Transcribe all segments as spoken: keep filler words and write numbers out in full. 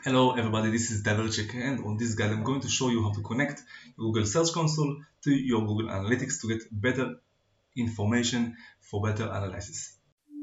Hello everybody, this is Daverchik, and on this guide I'm going to show you how to connect your Google Search Console to your Google Analytics to get better information for better analysis.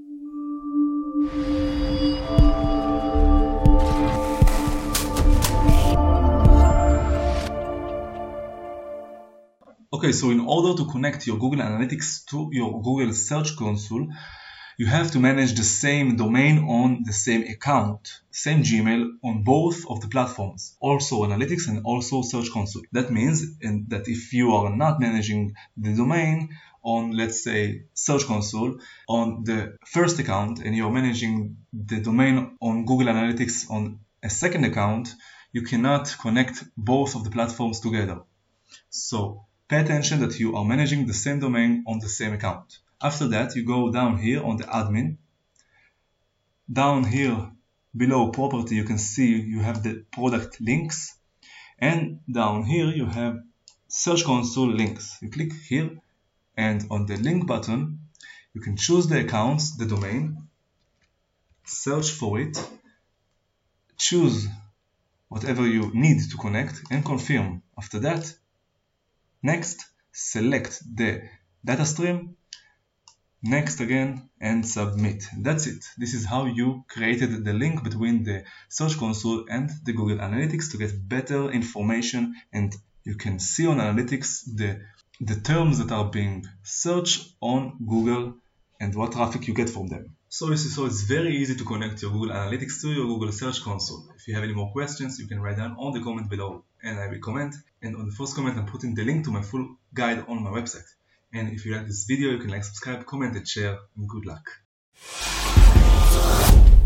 Okay, so in order to connect your Google Analytics to your Google Search Console, you have to manage the same domain on the same account, same Gmail on both of the platforms, also Analytics and also Search Console. That means that if you are not managing the domain on, let's say, Search Console on the first account and you're managing the domain on Google Analytics on a second account, you cannot connect both of the platforms together. So pay attention that you are managing the same domain on the same account. After that, you go down here on the admin. Down here below property, you can see you have the product links. And down here, you have Search Console links. You click here, and on the link button, you can choose the accounts, the domain, search for it, choose whatever you need to connect, and confirm. After that, next, select the data stream, next again, and submit. That's it. This is how you created the link between the Search Console and the Google Analytics to get better information, and you can see on Analytics the, the terms that are being searched on Google and what traffic you get from them. So, so it's very easy to connect your Google Analytics to your Google Search Console. If you have any more questions, you can write down on the comment below and I will comment. And on the first comment, I'm putting the link to my full guide on my website. And if you like this video, you can like, subscribe, comment, and share, and good luck.